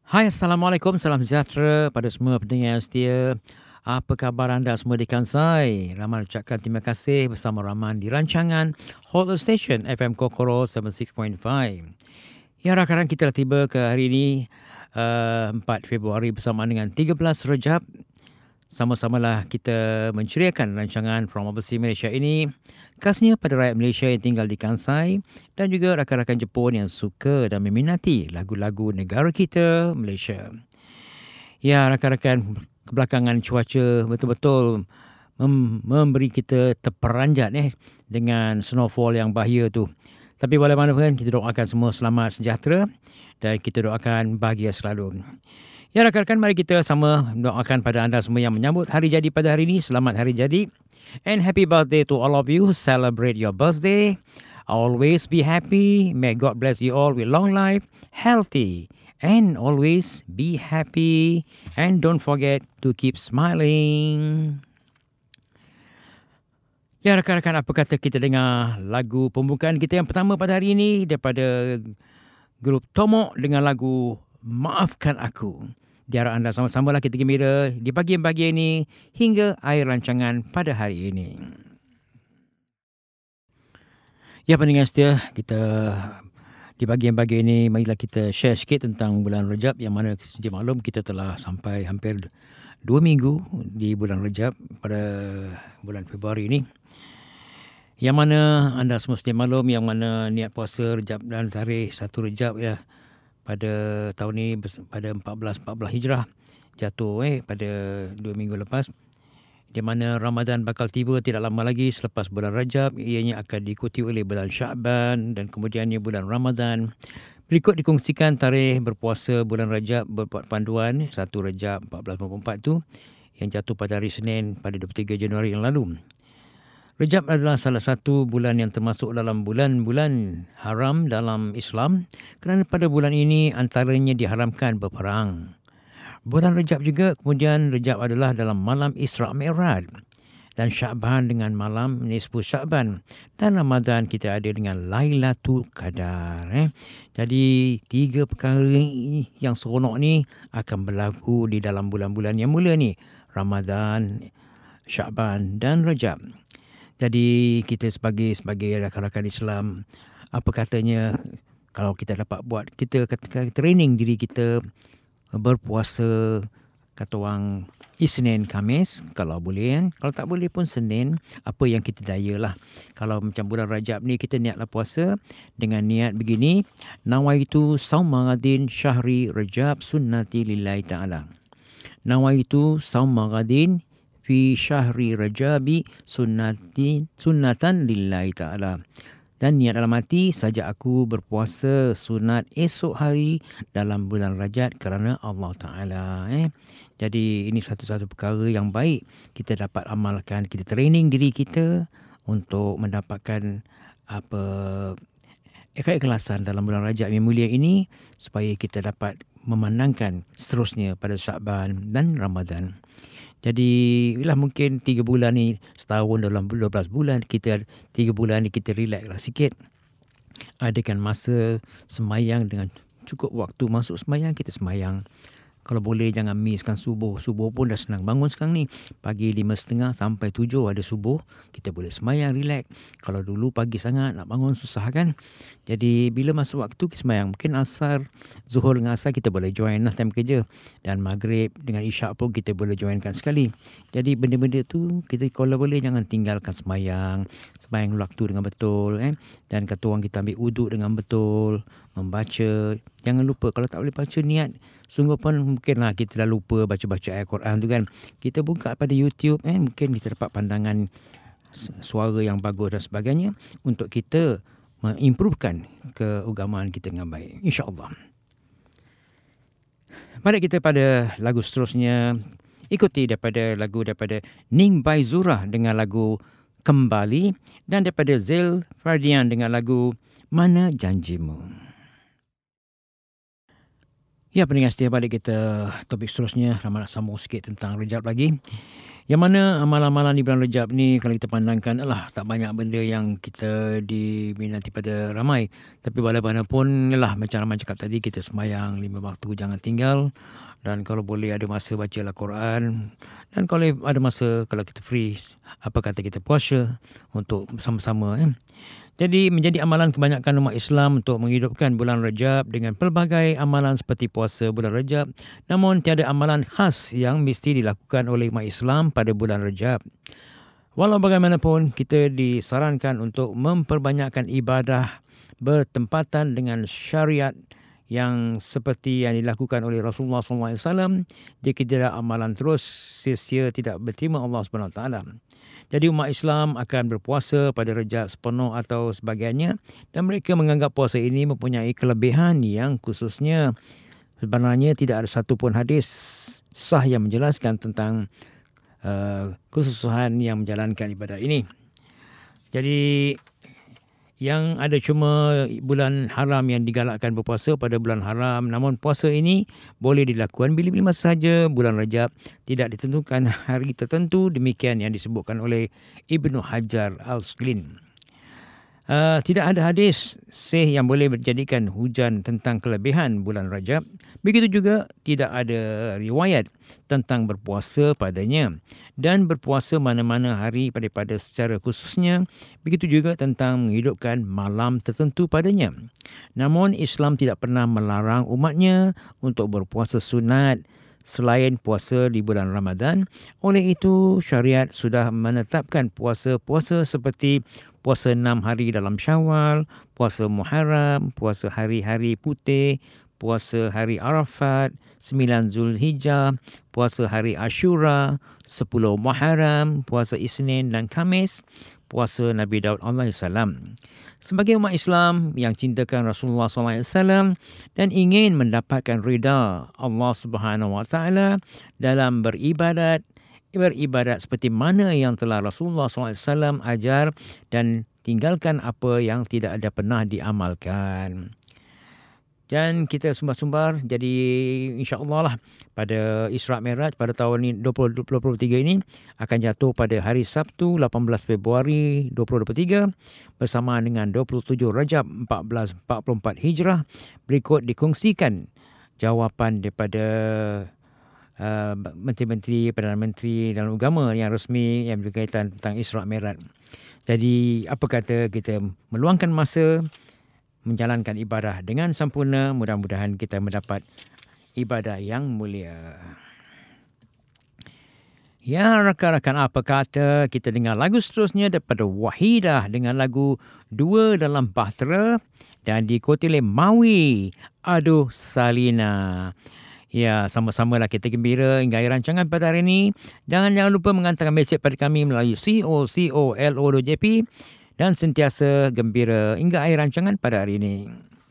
Hai, Assalamualaikum. Salam sejahtera pada semua pendengar yang setia. Apa khabar anda semua di Kansai? Rahman ucapkan terima kasih bersama Rahman di rancangan Hotel Station FM Kokoro 76.5. Ya, rakan-rakan, kita dah tiba ke hari ini 4 Februari bersamaan dengan 13 Rejab. Sama-samalah kita menceriakan rancangan From Overseas Malaysia ini khasnya pada rakyat Malaysia yang tinggal di Kansai dan juga rakan-rakan Jepun yang suka dan meminati lagu-lagu negara kita, Malaysia. Ya, rakan-rakan, kebelakangan cuaca betul-betul memberi kita terperanjat dengan snowfall yang bahaya tu. Tapi bagaimanapun kita doakan semua selamat sejahtera dan kita doakan bahagia selalu. Ya, rakan-rakan, mari kita sama doakan pada anda semua yang menyambut hari jadi pada hari ini. Selamat hari jadi. And happy birthday to all of you who celebrate your birthday. Always be happy. May God bless you all with long life, healthy, and always be happy. And don't forget to keep smiling. Ya, rakan-rakan, apa kata kita dengar lagu pembukaan kita yang pertama pada hari ini daripada grup Tomok dengan lagu Maafkan Aku. Di arah anda sama-samalah kita gembira di bahagian-bahagian ini hingga akhir rancangan pada hari ini. Ya, pendengar setia, kita di bahagian-bahagian ini marilah kita share sikit tentang bulan Rejab yang mana sedia maklum kita telah sampai hampir 2 minggu di bulan Rejab pada bulan Februari ini. Yang mana anda semua sedia maklum yang mana niat puasa Rejab dan tarikh 1 Rejab ya pada tahun ini pada 14 Hijrah jatuh pada 2 minggu lepas, di mana Ramadan bakal tiba tidak lama lagi selepas bulan Rajab. Ianya akan diikuti oleh bulan Sya'ban dan kemudiannya bulan Ramadan. Berikut dikongsikan tarikh berpuasa bulan Rajab berbuat panduan 1 Rajab 1444 tu yang jatuh pada hari Senin pada 23 Januari yang lalu. Rejab adalah salah satu bulan yang termasuk dalam bulan-bulan haram dalam Islam kerana pada bulan ini antaranya diharamkan berperang. Bulan Rejab juga kemudian Rejab adalah dalam malam Isra' Mi'raj dan Sya'ban dengan malam Nisfu Sya'ban dan Ramadan kita ada dengan Lailatul Qadar. Jadi 3 perkara yang seronok ni akan berlaku di dalam bulan-bulan yang mulia ni, Ramadan, Sya'ban dan Rejab. Jadi kita sebagai rakan-rakan Islam, apa katanya kalau kita dapat buat, kita training diri kita berpuasa kata orang Isnin, Khamis kalau boleh kan. Kalau tak boleh pun Senin, apa yang kita daya lah. Kalau macam bulan Rajab ni kita niatlah puasa dengan niat begini, nawaitu saumagadin syahri Rajab sunnati lillahi ta'ala. Nawaitu saumagadin fi syahri Rajabi sunnatan lillahi ta'ala. Dan niat dalam hati, saja aku berpuasa sunat esok hari dalam bulan Rajab kerana Allah Ta'ala. Jadi ini satu-satu perkara yang baik kita dapat amalkan. Kita training diri kita untuk mendapatkan keikhlasan dalam bulan Rajab yang mulia ini supaya kita dapat memandangkan seterusnya pada Sya'ban dan Ramadan. Jadi bila mungkin 3 bulan ni, setahun dalam 12 bulan, kita 3 bulan ni kita relax lah sikit. Adakan masa semayang dengan cukup waktu masuk semayang, kita semayang. Kalau boleh jangan misskan subuh. Subuh pun dah senang bangun sekarang ni. Pagi 5.30 sampai 7 ada subuh. Kita boleh semayang, relax. Kalau dulu pagi sangat nak bangun susah kan. Jadi bila masuk waktu kita semayang. Mungkin asar, zuhur dengan asar kita boleh join lah time kerja. Dan maghrib dengan isyak pun kita boleh joinkan sekali. Jadi benda-benda tu kita kalau boleh jangan tinggalkan semayang. Semayang waktu dengan betul. Dan kata orang kita ambil uduk dengan betul. Membaca. Jangan lupa kalau tak boleh baca niat. Sungguh pun mungkinlah kita dah lupa baca-baca ayat Quran tu kan. Kita buka pada YouTube mungkin kita dapat pandangan suara yang bagus dan sebagainya untuk kita mengimprovekan keagamaan kita dengan baik, insya-Allah. Mari kita pada lagu seterusnya. Ikuti daripada Ning Bai Zurah dengan lagu Kembali dan daripada Zail Fardian dengan lagu Mana Janjimu. Ya, pendengar setia, balik kita topik seterusnya. Ramai nak sambung sikit tentang Rejab lagi. Yang mana amalan-amalan di bulan Rejab ni kalau kita pandangkan tak banyak benda yang kita diminati pada ramai. Tapi bagaimanapun macam Rahman cakap tadi, kita sembahyang 5 waktu jangan tinggal. Dan kalau boleh ada masa baca Al-Quran. Dan kalau ada masa, kalau kita free, apa kata kita puasa untuk bersama-sama. Jadi menjadi amalan kebanyakan umat Islam untuk menghidupkan bulan Rejab dengan pelbagai amalan seperti puasa bulan Rejab. Namun tiada amalan khas yang mesti dilakukan oleh umat Islam pada bulan Rejab. Walau bagaimanapun, kita disarankan untuk memperbanyakkan ibadah bertempatan dengan syariat yang seperti yang dilakukan oleh Rasulullah SAW. Jika tidak amalan terus, sia-sia tidak berterima Allah SWT. Jadi umat Islam akan berpuasa pada Rejab sepenuh atau sebagainya, dan mereka menganggap puasa ini mempunyai kelebihan yang khususnya sebenarnya tidak ada satu pun hadis sah yang menjelaskan tentang kesusahan yang menjalankan ibadah ini. Jadi yang ada cuma bulan haram yang digalakkan berpuasa pada bulan haram. Namun puasa ini boleh dilakukan bila-bila sahaja bulan Rejab. Tidak ditentukan hari tertentu. Demikian yang disebutkan oleh Ibnu Hajar Al-Asqalani. Tidak ada hadis sahih yang boleh menjadikan hujan tentang kelebihan bulan Rajab. Begitu juga tidak ada riwayat tentang berpuasa padanya dan berpuasa mana-mana hari daripada secara khususnya. Begitu juga tentang menghidupkan malam tertentu padanya. Namun Islam tidak pernah melarang umatnya untuk berpuasa sunat selain puasa di bulan Ramadan. Oleh itu, syariat sudah menetapkan puasa-puasa seperti puasa 6 hari dalam Syawal, puasa Muharram, puasa hari-hari putih, puasa hari Arafat, 9 Zulhijjah, puasa hari Ashura, 10 Muharram, puasa Isnin dan Khamis, puasa Nabi Daud AS. Sebagai umat Islam yang cintakan Rasulullah SAW dan ingin mendapatkan rida Allah Subhanahu Wa Taala dalam beribadat seperti mana yang telah Rasulullah SAW ajar dan tinggalkan apa yang tidak ada pernah diamalkan. Dan kita sumbar-sumbar, jadi insya-Allah lah pada Isra' Mi'raj pada tahun ini 2023 ini akan jatuh pada hari Sabtu 18 Februari 2023 bersamaan dengan 27 Rajab 1444 Hijrah. Berikut dikongsikan jawapan daripada menteri-menteri, Perdana Menteri dalam agama yang resmi yang berkaitan tentang Isra' Mi'raj. Jadi apa kata kita meluangkan masa menjalankan ibadah dengan sempurna. Mudah-mudahan kita mendapat ibadah yang mulia. Ya, rakan-rakan, apa kata kita dengar lagu seterusnya daripada Wahidah dengan lagu Dua Dalam Bahtera dan diikuti oleh Mawi, Aduh Salina. Ya, sama-samalah kita gembira hingga akhir rancangan pada hari ini. Jangan lupa menghantarkan mesej pada kami melalui COCOLO.jp dan sentiasa gembira hingga akhir rancangan pada hari ini.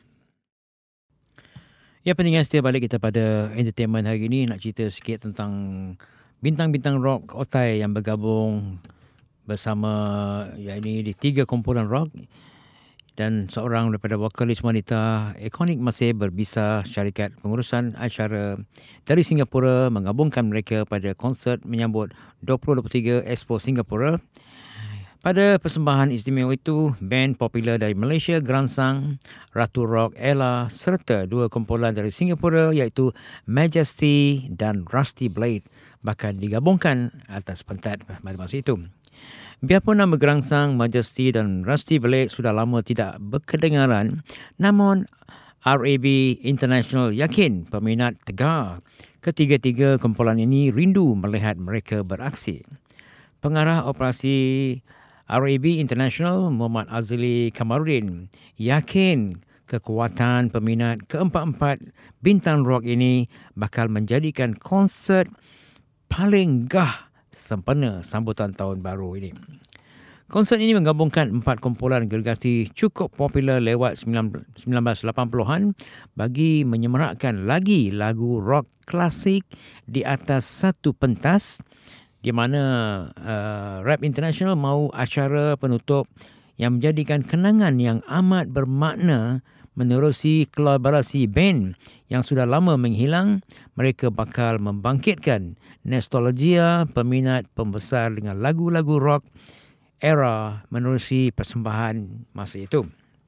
Ya, pendengar setia, balik kita pada entertainment hari ini. Nak cerita sikit tentang bintang-bintang rock otai yang bergabung bersama ini di 3 kumpulan rock. Dan seorang daripada vokalis wanita ikonik masih berbisa syarikat pengurusan acara dari Singapura menggabungkan mereka pada konsert menyambut 2023 Expo Singapura. Pada persembahan istimewa itu, band popular dari Malaysia, Gerangsang, Ratu Rock, Ella serta 2 kumpulan dari Singapura iaitu Majesty dan Rusty Blade bahkan digabungkan atas pentas pada masa itu. Biarpun nama Gerangsang, Majesty dan Rusty Blade sudah lama tidak berkedengaran, namun RAB International yakin peminat tegar ketiga-tiga kumpulan ini rindu melihat mereka beraksi. Pengarah operasi RAB International, Muhammad Azli Kamarudin, yakin kekuatan peminat keempat-empat bintang rock ini bakal menjadikan konsert paling sempurna sambutan tahun baru ini. Konsert ini menggabungkan 4 kumpulan gergasi cukup popular lewat 1980-an bagi menyemarakkan lagi lagu rock klasik di atas satu pentas, di mana Rap International mahu acara penutup yang menjadikan kenangan yang amat bermakna menerusi kolaborasi band yang sudah lama menghilang. Mereka bakal membangkitkan nostalgia peminat pembesar dengan lagu-lagu rock era menerusi persembahan masa itu.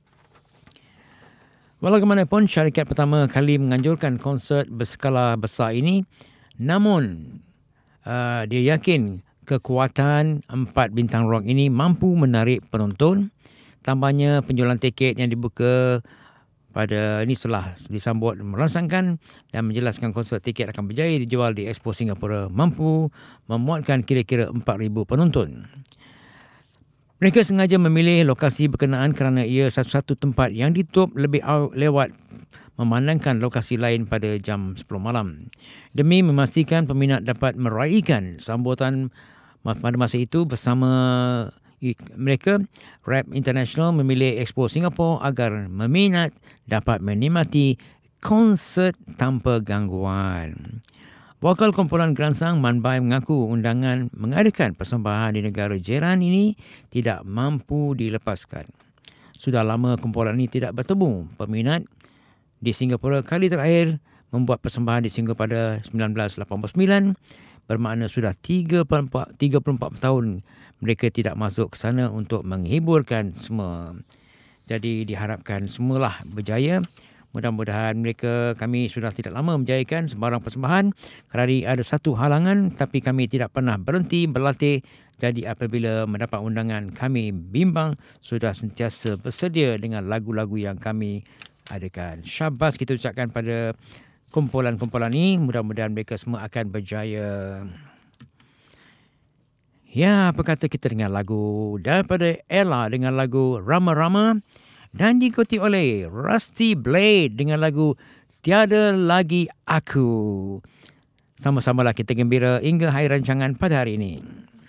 Bagaimanapun, syarikat pertama kali menganjurkan konsert berskala besar ini, namun dia yakin kekuatan 4 bintang rock ini mampu menarik penonton. Tambahnya penjualan tiket yang dibuka pada ini setelah disambut merangsangkan dan menjelaskan konsert tiket akan berjaya dijual di Expo Singapura mampu memuatkan kira-kira 4,000 penonton. Mereka sengaja memilih lokasi berkenaan kerana ia satu-satu tempat yang ditutup lebih lewat memandangkan lokasi lain pada jam 10 malam. Demi memastikan peminat dapat meraihkan sambutan pada masa itu bersama mereka, Rap International memilih Expo Singapura agar peminat dapat menikmati konsert tanpa gangguan. Wakil kumpulan gerangsang Man Bai mengaku undangan mengadakan persembahan di negara jiran ini tidak mampu dilepaskan. Sudah lama kumpulan ini tidak bertemu peminat di Singapura. Kali terakhir membuat persembahan di Singapura pada 1989, bermakna sudah 34 tahun mereka tidak masuk ke sana untuk menghiburkan semua. Jadi diharapkan semualah berjaya. Mudah-mudahan kami sudah tidak lama menjayakan sembarang persembahan kerana ada satu halangan, tapi kami tidak pernah berhenti berlatih. Jadi apabila mendapat undangan, kami bimbang sudah sentiasa bersedia dengan lagu-lagu yang kami adakan. Syabas kita ucapkan pada kumpulan-kumpulan ini. Mudah-mudahan mereka semua akan berjaya. Ya, apa kata kita dengan lagu daripada Ella dengan lagu Rama Rama, dan diikuti oleh Rusty Blade dengan lagu Tiada Lagi Aku. Sama-samalah kita gembira hingga akhir rancangan pada hari ini.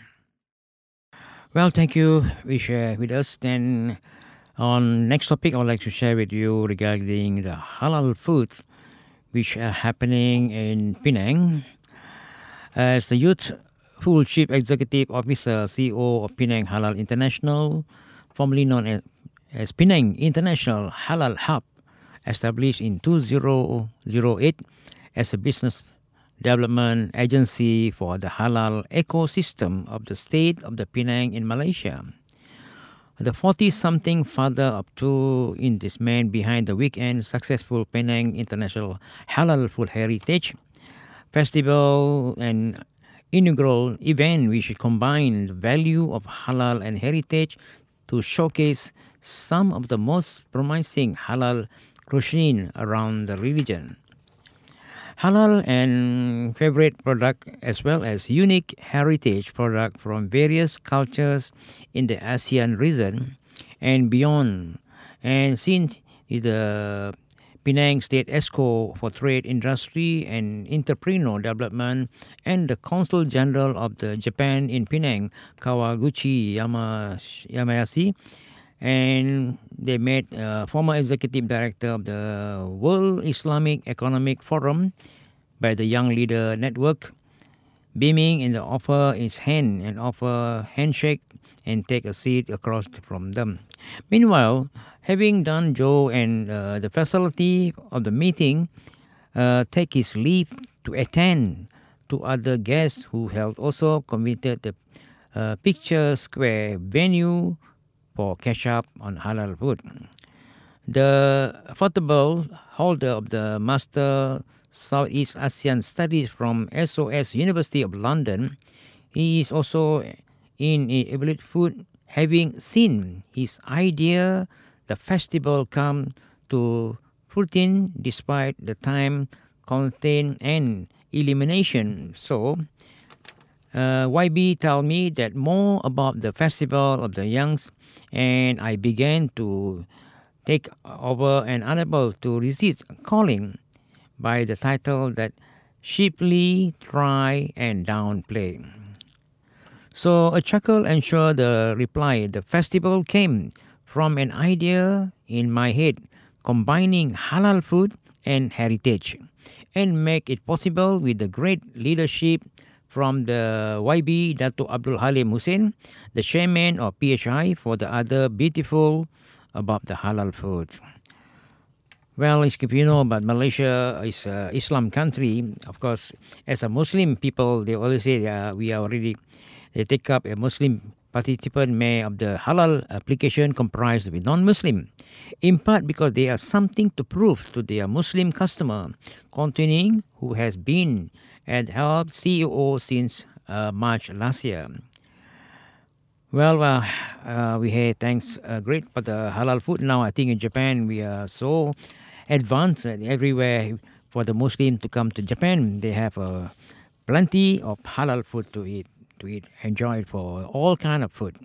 Well, thank you. We share with us. Then on next topic, I would like to share with you regarding the halal food which are happening in Penang. As the Youthful Chief Executive Officer, CEO of Penang Halal International, formerly known as Penang International Halal Hub, established in 2008 as a business development agency for the halal ecosystem of the state of the Penang in Malaysia. The 40-something father of two in this man behind the weekend successful Penang International Halal Food Heritage Festival, an inaugural event which combined the value of halal and heritage to showcase some of the most promising halal cuisine around the region. Halal and favorite product as well as unique heritage product from various cultures in the ASEAN region and beyond. And since is the Penang State ESCO for Trade, Industry and Entrepreneur Development and the Consul General of the Japan in Penang, Kawaguchi Yamayashi, and they met former executive director of the World Islamic Economic Forum by the Young Leader Network, beaming in the offer his hand and offer handshake and take a seat across from them. Meanwhile, having done Joe and the facility of the meeting, take his leave to attend to other guests who held also committed the Picture Square venue for catch up on halal food. The affordable holder of the Master Southeast Asian Studies from SOS University of London, he is also in Ability Food, having seen his idea, the festival come to fruition despite the time constraint and elimination. So, YB told me that more about the festival of the youngs, and I began to take over and unable to resist calling by the title that cheaply try and downplay. So a chuckle ensured the reply. The festival came from an idea in my head combining halal food and heritage and make it possible with the great leadership from the YB Dato Abdul Halim Hussein, the chairman of PHI, for the other beautiful about the halal food. Well, if you know about Malaysia is a Islam country, of course, as a Muslim people, they always say we are already, they take up a Muslim participant may of the halal application comprised with non-Muslim, in part because they are something to prove to their Muslim customer, continuing who has been at Help CEO since March last year. Well, we had thanks great for the halal food. Now I think in Japan we are so advanced everywhere for the Muslim to come to Japan. They have plenty of halal food to eat, enjoy it for all kind of food.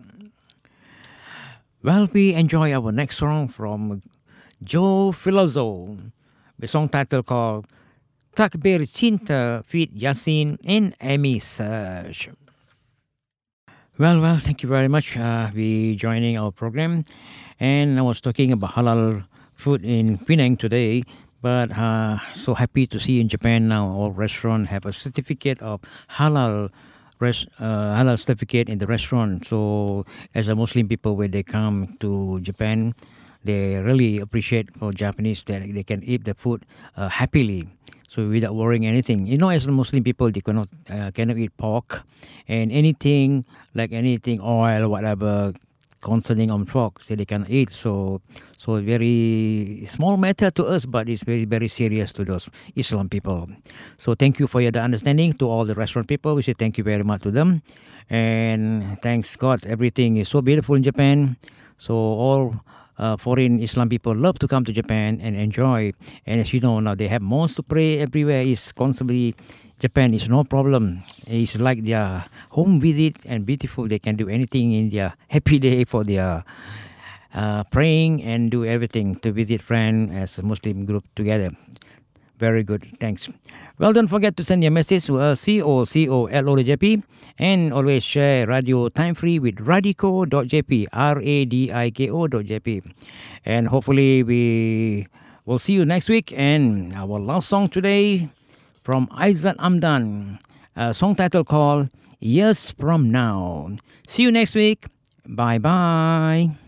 Well, we enjoy our next song from Joe Filozzo, the song title called Takbir Cinta feat Yasin and Amy Serge. Well, thank you very much. We joining our program, and I was talking about halal food in Penang today. But so happy to see in Japan now all restaurants have a certificate of halal halal certificate in the restaurant. So as a Muslim people, when they come to Japan, they really appreciate for Japanese that they can eat the food happily. So without worrying anything, as a Muslim people, they cannot eat pork and anything like anything oil, whatever concerning on pork, so they can eat. So very small matter to us, but it's very very serious to those Islam people. So thank you for your understanding to all the restaurant people. We say thank you very much to them, and thanks God, everything is so beautiful in Japan. So all foreign Islam people love to come to Japan and enjoy. And as you know, now they have mosques to pray everywhere. Is constantly Japan is no problem. It's like their home visit and beautiful. They can do anything in their happy day for their praying and do everything to visit friends as a Muslim group together. Very good. Thanks. Well, don't forget to send your message to COCOLO.jp and always share Radio Time Free with Radico.jp, RADIKO.jp. And hopefully we will see you next week. And our last song today from Aizat Amdan, a song title called Years From Now. See you next week. Bye-bye.